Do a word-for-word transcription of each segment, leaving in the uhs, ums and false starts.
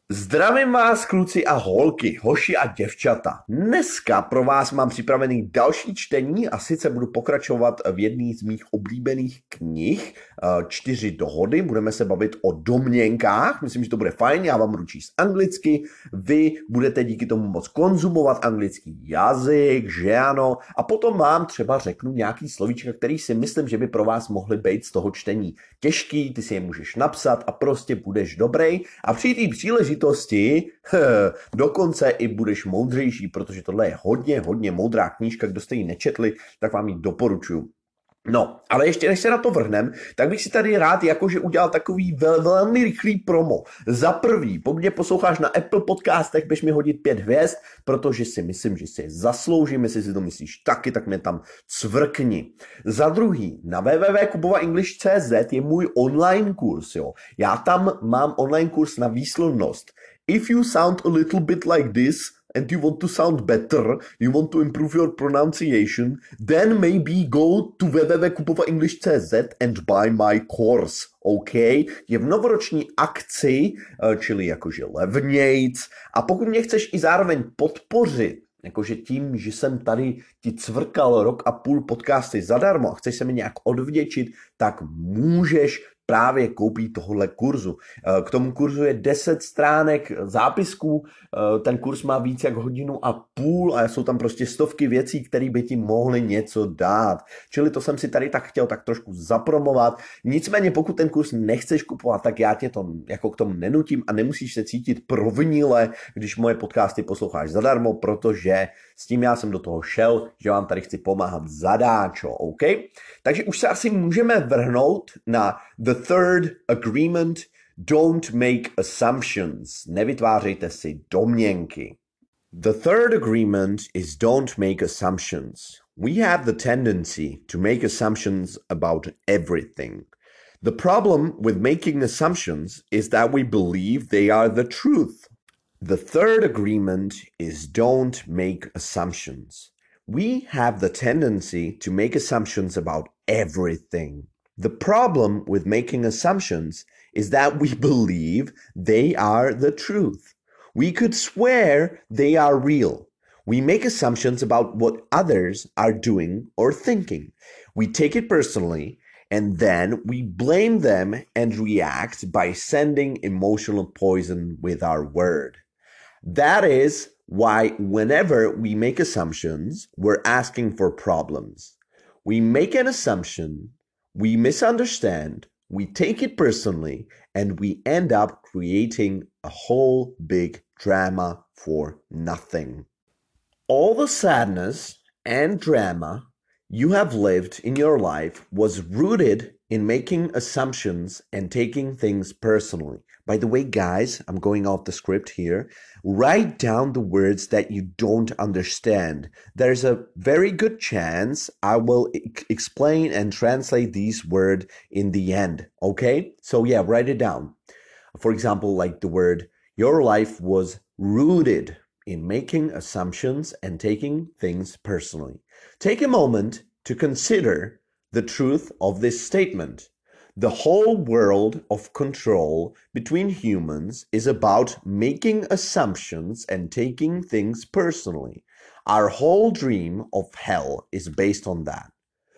Zdravím vás, kluci a holky, hoši a děvčata. Dneska pro vás mám připravený další čtení a sice budu pokračovat v jedné z mých oblíbených knih, Čtyři dohody. Budeme se bavit o domněnkách, myslím, že to bude fajn, já vám budu číst anglicky, vy budete díky tomu moc konzumovat anglický jazyk, že ano, a potom vám třeba řeknu nějaký slovíčka, který si myslím, že by pro vás mohly být z toho čtení těžký, ty si je můžeš napsat a prostě budeš dobrý a při té příležitosti dokonce i budeš moudřejší, protože tohle je hodně, hodně moudrá knížka, kdo jste ji nečetli, tak vám ji doporučuji. No, ale ještě než se na to vrhnem, tak bych si tady rád jakože udělal takový vel, velmi rychlý promo. Za prvý, pokud mě posloucháš na Apple podcastech, běž mi hodit pět hvězd, protože si myslím, že si je zasloužím, jestli si to myslíš taky, tak mě tam cvrkni. Za druhý, na w w w tečka kubova english tečka c z je můj online kurz, jo. Já tam mám online kurz na výslovnost. If you sound a little bit like this, and you want to sound better, you want to improve your pronunciation, then maybe go to w w w tečka kubova english tečka c z and buy my course, OK? Je v novoroční akci, čili jakože levnějc, a pokud mě chceš i zároveň podpořit, jakože tím, že jsem tady ti cvrkal rok a půl podcasty zadarmo a chceš se mi nějak odvděčit, tak můžeš právě koupit tohle kurzu. K tomu kurzu je deset stránek zápisků, ten kurz má víc jak hodinu a půl a jsou tam prostě stovky věcí, které by ti mohly něco dát. Čili to jsem si tady tak chtěl tak trošku zapromovat. Nicméně pokud ten kurz nechceš kupovat, tak já tě to jako k tomu nenutím a nemusíš se cítit provinile, když moje podcasty posloucháš zadarmo, protože s tím já jsem do toho šel, že vám tady chci pomáhat zadáčo, OK? Takže už se asi můžeme vrhnout na the third agreement, don't make assumptions. Nevytvářejte si domněnky. The third agreement is don't make assumptions. We have the tendency to make assumptions about everything. The problem with making assumptions is that we believe they are the truth. The third agreement is don't make assumptions. We have the tendency to make assumptions about everything. The problem with making assumptions is that we believe they are the truth. We could swear they are real. We make assumptions about what others are doing or thinking. We take it personally, and then we blame them and react by sending emotional poison with our word. That is why whenever we make assumptions, we're asking for problems. We make an assumption, we misunderstand, we take it personally, and we end up creating a whole big drama for nothing. All the sadness and drama you have lived in your life was rooted in making assumptions and taking things personally. By the way, guys, I'm going off the script here. Write down the words that you don't understand. There's a very good chance I will e- explain and translate these words in the end, okay? So yeah, write it down. For example, like the word, your life was rooted in making assumptions and taking things personally. Take a moment to consider the truth of this statement. The whole world of control between humans is about making assumptions and taking things personally. Our whole dream of hell is based on that.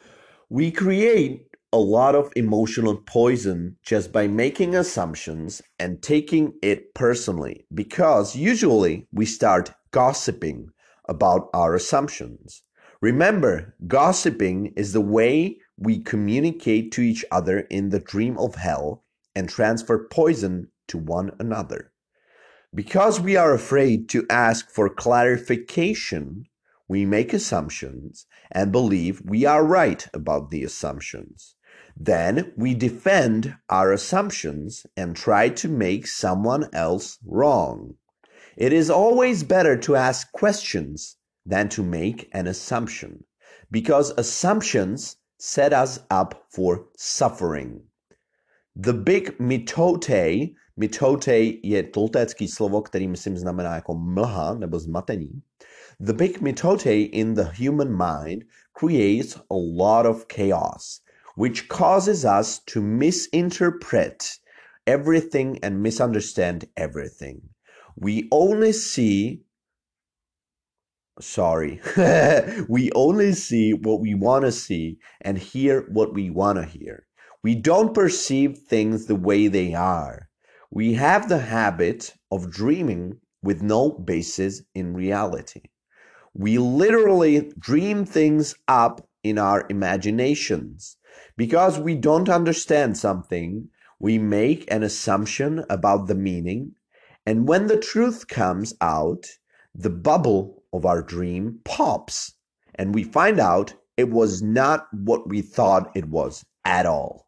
We create a lot of emotional poison just by making assumptions and taking it personally, because usually we start gossiping about our assumptions. Remember, gossiping is the way we communicate to each other in the dream of hell and transfer poison to one another. Because we are afraid to ask for clarification, we make assumptions and believe we are right about the assumptions. Then we defend our assumptions and try to make someone else wrong. It is always better to ask questions than to make an assumption, because assumptions set us up for suffering. The big mitote, mitote je toltécký slovo, který myslím znamená jako mlha nebo zmatení. The big mitote in the human mind creates a lot of chaos, which causes us to misinterpret everything and misunderstand everything. We only see, sorry, we only see what we want to see and hear what we want to hear. We don't perceive things the way they are. We have the habit of dreaming with no basis in reality. We literally dream things up in our imaginations. Because we don't understand something, we make an assumption about the meaning, and when the truth comes out, the bubble of our dream pops, and we find out it was not what we thought it was at all.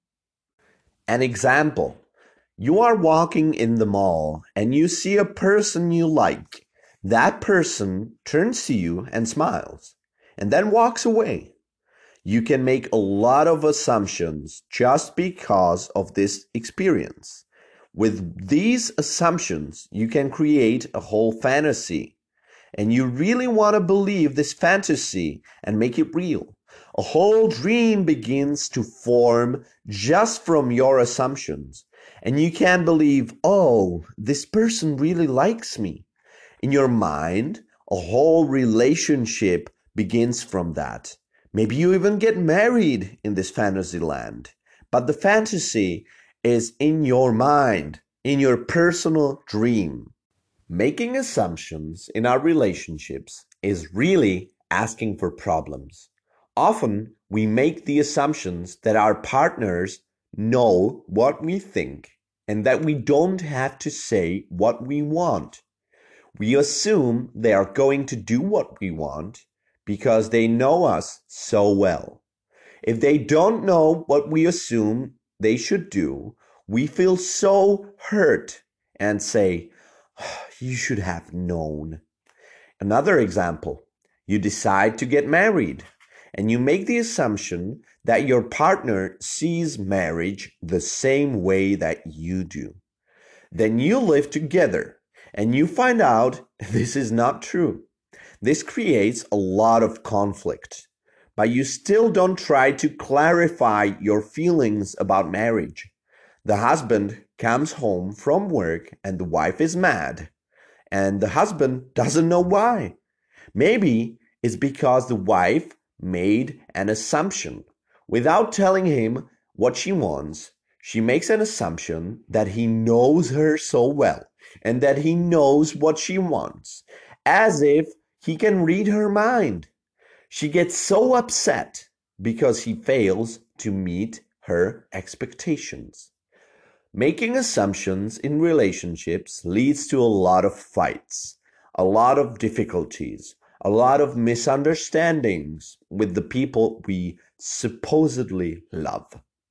An example. You are walking in the mall and you see a person you like. That person turns to you and smiles and then walks away. You can make a lot of assumptions just because of this experience. With these assumptions, you can create a whole fantasy. And you really want to believe this fantasy and make it real. A whole dream begins to form just from your assumptions. And you can believe, oh, this person really likes me. In your mind, a whole relationship begins from that. Maybe you even get married in this fantasy land. But the fantasy is in your mind, in your personal dream. Making assumptions in our relationships is really asking for problems. Often, we make the assumptions that our partners know what we think and that we don't have to say what we want. We assume they are going to do what we want because they know us so well. If they don't know what we assume they should do, we feel so hurt and say, you should have known. Another example, you decide to get married and you make the assumption that your partner sees marriage the same way that you do. Then you live together and you find out this is not true. This creates a lot of conflict, but you still don't try to clarify your feelings about marriage. The husband comes home from work and the wife is mad. And the husband doesn't know why. Maybe it's because the wife made an assumption. Without telling him what she wants, she makes an assumption that he knows her so well and that he knows what she wants, as if he can read her mind. She gets so upset because he fails to meet her expectations. Making assumptions in relationships leads to a lot of fights, a lot of difficulties, a lot of misunderstandings with the people we supposedly love.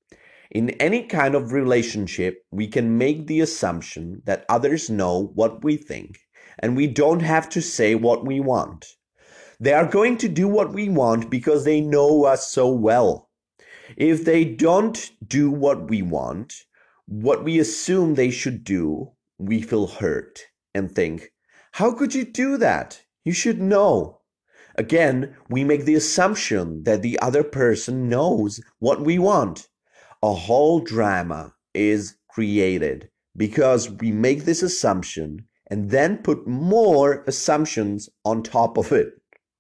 In any kind of relationship, we can make the assumption that others know what we think, and we don't have to say what we want. They are going to do what we want because they know us so well. If they don't do what we want, what we assume they should do, we feel hurt and think, how could you do that? You should know. Again, we make the assumption that the other person knows what we want. A whole drama is created because we make this assumption and then put more assumptions on top of it.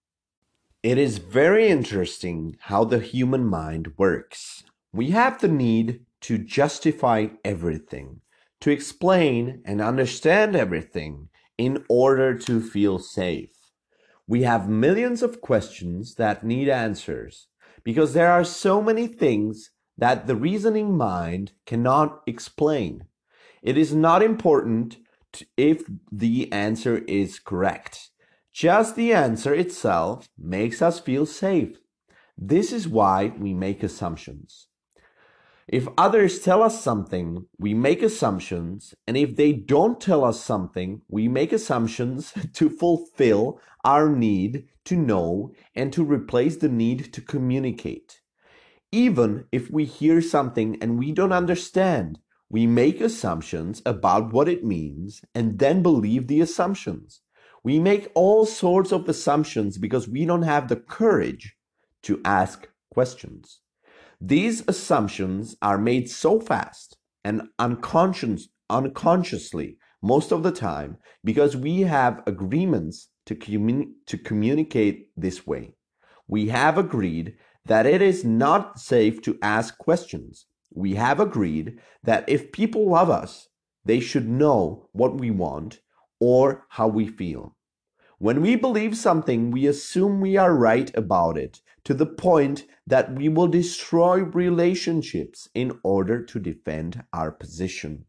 It is very interesting how the human mind works. We have the need to justify everything, to explain and understand everything in order to feel safe. We have millions of questions that need answers because there are so many things that the reasoning mind cannot explain. It is not important to, if the answer is correct. Just the answer itself makes us feel safe. This is why we make assumptions. If others tell us something, we make assumptions, and if they don't tell us something, we make assumptions to fulfill our need to know and to replace the need to communicate. Even if we hear something and we don't understand, we make assumptions about what it means and then believe the assumptions. We make all sorts of assumptions because we don't have the courage to ask questions. These assumptions are made so fast and unconscious, unconsciously most of the time because we have agreements to, commun- to communicate this way. We have agreed that it is not safe to ask questions. We have agreed that if people love us, they should know what we want or how we feel. When we believe something, we assume we are right about it to the point that we will destroy relationships in order to defend our position.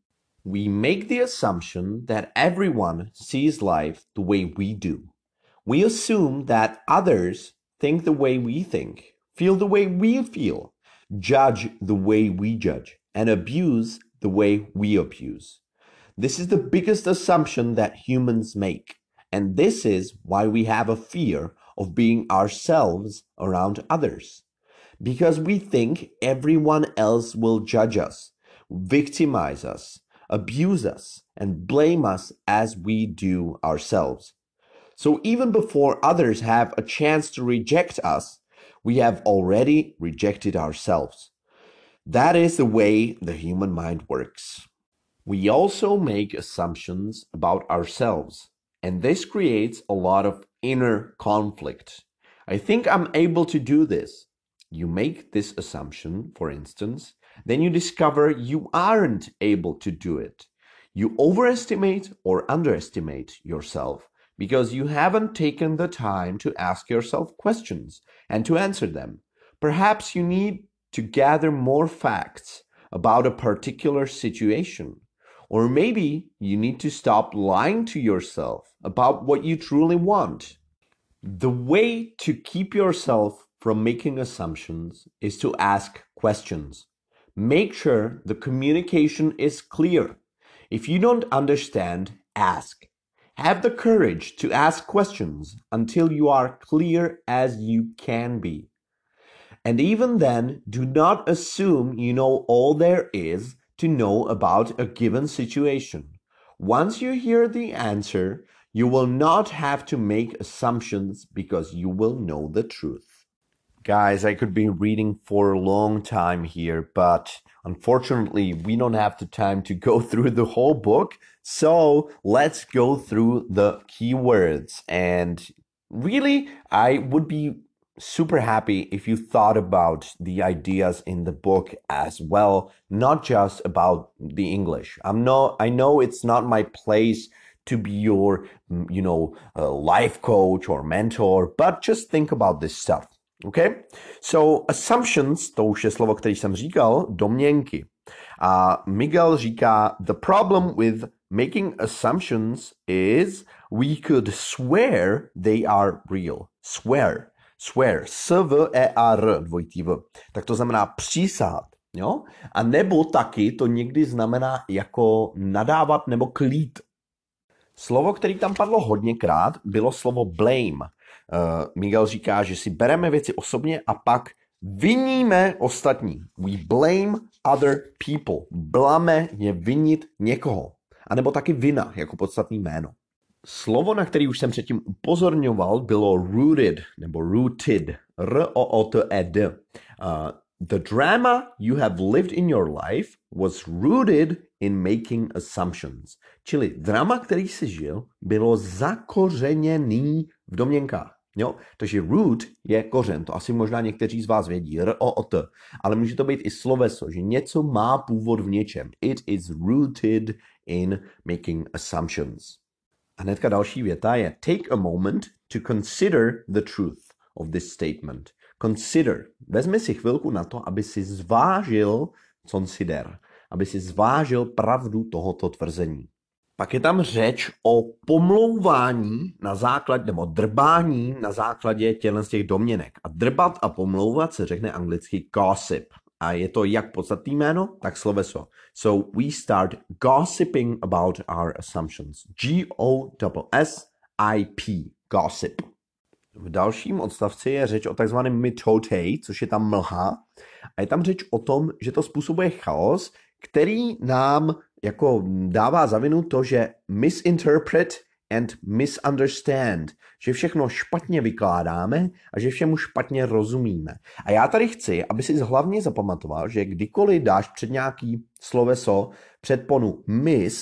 We make the assumption that everyone sees life the way we do. We assume that others think the way we think, feel the way we feel, judge the way we judge, and abuse the way we abuse. This is the biggest assumption that humans make. And this is why we have a fear of being ourselves around others. Because we think everyone else will judge us, victimize us, abuse us, and blame us as we do ourselves. So even before others have a chance to reject us, we have already rejected ourselves. That is the way the human mind works. We also make assumptions about ourselves, and this creates a lot of inner conflict. I think I'm able to do this. You make this assumption, for instance, then you discover you aren't able to do it. You overestimate or underestimate yourself because you haven't taken the time to ask yourself questions and to answer them. Perhaps you need to gather more facts about a particular situation. Or maybe you need to stop lying to yourself about what you truly want. The way to keep yourself from making assumptions is to ask questions. Make sure the communication is clear. If you don't understand, ask. Have the courage to ask questions until you are clear as you can be. And even then, do not assume you know all there is to know about a given situation. Once you hear the answer, you will not have to make assumptions because you will know the truth. Guys, I could be reading for a long time here, but unfortunately, we don't have the time to go through the whole book. So let's go through the keywords. And really, I would be super happy if you thought about the ideas in the book as well, not just about the English. I'm no, I know it's not my place to be your, you know, uh, life coach or mentor, but just think about this stuff. Okay? So assumptions, to už je slovo, které jsem říkal, domněnky. A Miguel říká, the problem with making assumptions is we could swear they are real. Swear. Swear, S-V-E-A-R, dvojitý V. Tak to znamená přísahat, jo? A nebo taky to někdy znamená jako nadávat nebo klít. Slovo, který tam padlo hodněkrát, bylo slovo blame. Uh, Miguel říká, že si bereme věci osobně a pak viníme ostatní. We blame other people. Blame je vinit někoho. A nebo taky vina, jako podstatný jméno. Slovo, na který už jsem předtím upozorňoval, bylo rooted, nebo rooted, R-O-O-T-E-D. Uh, the drama you have lived in your life was rooted in making assumptions. Čili drama, který jsi žil, bylo zakořeněný v domněnkách. Jo? Takže root je kořen, to asi možná někteří z vás vědí, R-O-O-T, ale může to být i sloveso, že něco má původ v něčem. It is rooted in making assumptions. A hnedka další věta je take a moment to consider the truth of this statement. Consider. Vezmi si chvilku na to, aby si zvážil, consider, aby si zvážil pravdu tohoto tvrzení. Pak je tam řeč o pomlouvání na základě, nebo drbání na základě těchto z těch domněnek. A drbat a pomlouvat se řekne anglicky gossip. A je to jak podstatné jméno, tak sloveso. So we start gossiping about our assumptions. G O S S I P. Gossip. V dalším odstavci je řeč o takzvaném mitotei, což je tam mlha. A je tam řeč o tom, že to způsobuje chaos, který nám jako dává za vinu to, že misinterpret and misunderstand, že všechno špatně vykládáme a že všemu špatně rozumíme. A já tady chci, aby si hlavně zapamatoval, že kdykoliv dáš před nějaký sloveso předponu mis,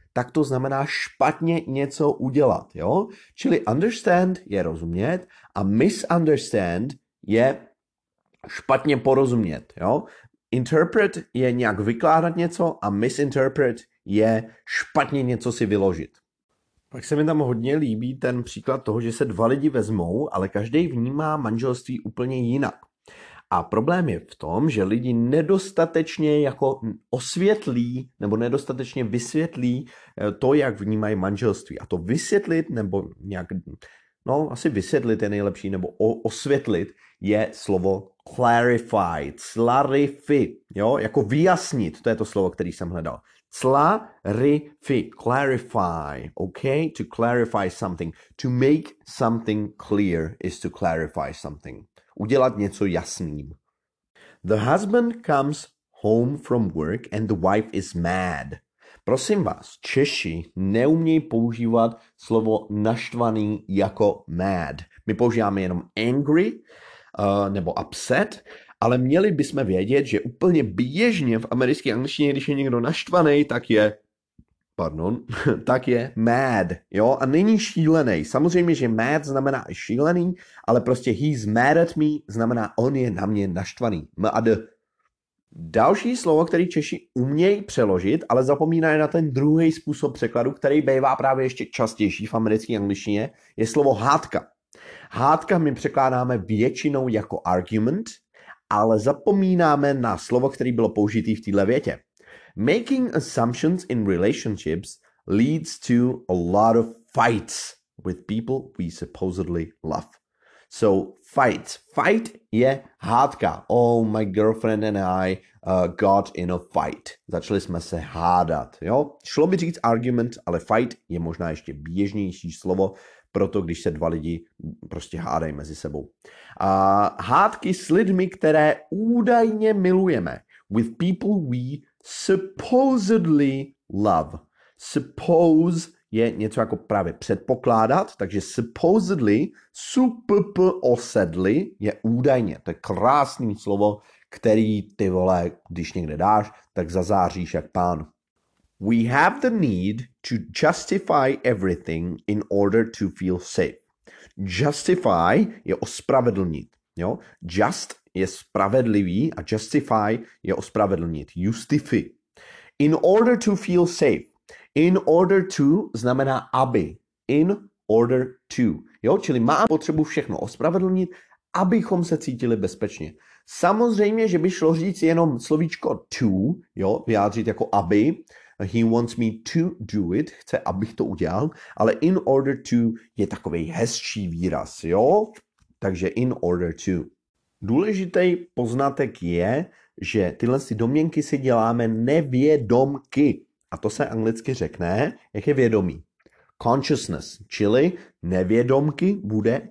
tak to znamená špatně něco udělat, jo? Čili understand je rozumět a misunderstand je špatně porozumět, jo? Interpret je nějak vykládat něco a misinterpret je špatně něco si vyložit. Pak se mi tam hodně líbí ten příklad toho, že se dva lidi vezmou, ale každý vnímá manželství úplně jinak. A problém je v tom, že lidi nedostatečně jako osvětlí nebo nedostatečně vysvětlí to, jak vnímají manželství. A to vysvětlit nebo nějak, no asi vysvětlit je nejlepší, nebo osvětlit je slovo clarify, clarify, jo, jako vyjasnit, to je to slovo, který jsem hledal. Clarify, clarify, okay, to clarify something, to make something clear is to clarify something. Udělat něco jasným. The husband comes home from work and the wife is mad. Prosím vás, Češi neumějí používat slovo naštvaný jako mad. My používáme jenom angry uh, nebo upset, ale měli bychom vědět, že úplně běžně v americké angličtině, když je někdo naštvaný, tak je pardon, tak je mad, jo, a není šílený. Samozřejmě, že mad znamená i šílený, ale prostě he's mad at me znamená on je na mě naštvaný. Mad. Další slovo, který Češi umějí přeložit, ale zapomínají na ten druhý způsob překladu, který bývá právě ještě častější v americké angličtině, je slovo hádka. Hádka my překládáme většinou jako argument, ale zapomínáme na slovo, který bylo použitý v této větě. Making assumptions in relationships leads to a lot of fights with people we supposedly love. So fight. Fight je hádka. Oh, my girlfriend and I uh, got in a fight. Začali jsme se hádat. Jo? Šlo by říct argument, ale fight je možná ještě běžnější slovo, proto když se dva lidi prostě hádají mezi sebou. Uh, hádky s lidmi, které údajně milujeme. With people we supposedly love. Suppose je něco jako právě předpokládat, takže supposedly, supposedly je údajně. To je krásný slovo, který ty vole, když někde dáš, tak zazáříš jak pán. We have the need to justify everything in order to feel safe. Justify je ospravedlnit. Jo? Just je spravedlivý a justify je ospravedlnit. Justify. In order to feel safe. In order to znamená aby. In order to. Jo? Čili má potřebu všechno ospravedlnit, abychom se cítili bezpečně. Samozřejmě, že by šlo říct jenom slovíčko to, jo? Vyjádřit jako aby. He wants me to do it. Chce, abych to udělal. Ale in order to je takovej hezčí výraz. Jo? Takže in order to. Důležitý poznatek je, že tyhle domněnky si děláme nevědomky. A to se anglicky řekne, jak je vědomí. Consciousness, čili nevědomky bude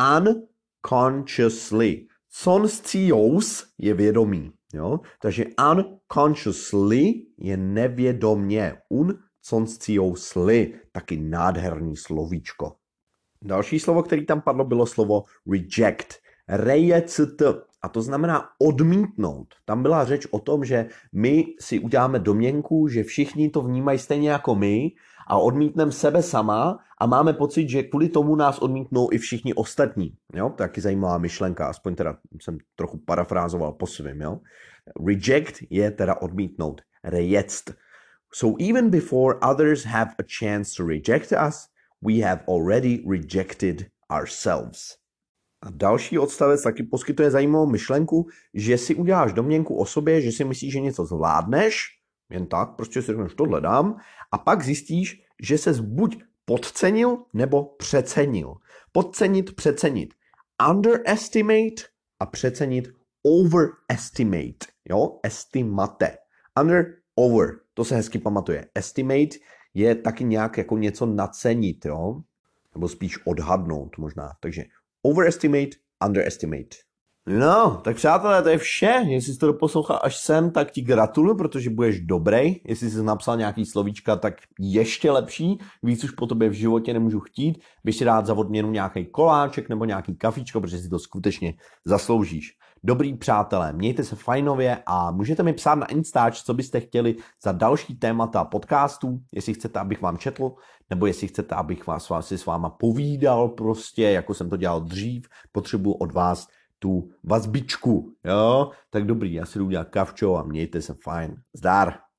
unconsciously. Conscious je vědomí. Jo? Takže unconsciously je nevědomně. Unconsciously, taky nádherný slovíčko. Další slovo, který tam padlo, bylo slovo reject. Reject. A to znamená odmítnout. Tam byla řeč o tom, že my si uděláme domněnku, že všichni to vnímají stejně jako my a odmítneme sebe sama a máme pocit, že kvůli tomu nás odmítnou i všichni ostatní. Jo? To je taky zajímavá myšlenka, aspoň teda jsem trochu parafrázoval po svým. Jo? Reject je teda odmítnout. Reject. So even before others have a chance to reject us, we have already rejected ourselves. A další odstavec taky poskytuje zajímavou myšlenku, že si uděláš domněnku o sobě, že si myslíš, že něco zvládneš, jen tak, prostě si řekneš, tohle dám, a pak zjistíš, že ses buď podcenil, nebo přecenil. Podcenit, přecenit. Underestimate a přecenit overestimate. Jo, estimate. Under, over, to se hezky pamatuje. Estimate je taky nějak jako něco nacenit, jo, nebo spíš odhadnout možná, takže overestimate, underestimate. No, tak přátelé, to je vše. Jestli jsi to doposlouchal až sem, tak ti gratuluju, protože budeš dobrý. Jestli jsi napsal nějaký slovíčka, tak ještě lepší. Víc už po tobě v životě nemůžu chtít. Bych si dát za odměnu nějaký koláček nebo nějaký kafičko, protože si to skutečně zasloužíš. Dobrý přátelé, mějte se fajnově a můžete mi psát na Instač, co byste chtěli za další témata podcastů, jestli chcete, abych vám četl, nebo jestli chcete, abych vás, vás si s váma povídal prostě, jako jsem to dělal dřív, potřebuji od vás tu vazbičku, jo? Tak dobrý, já si jdu udělat kavčo a mějte se fajn. Zdar!